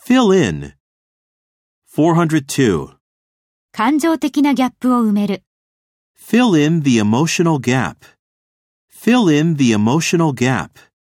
Fill in. 402. 感情的なギャップを埋める。 Fill in the emotional gap. Fill in the emotional gap.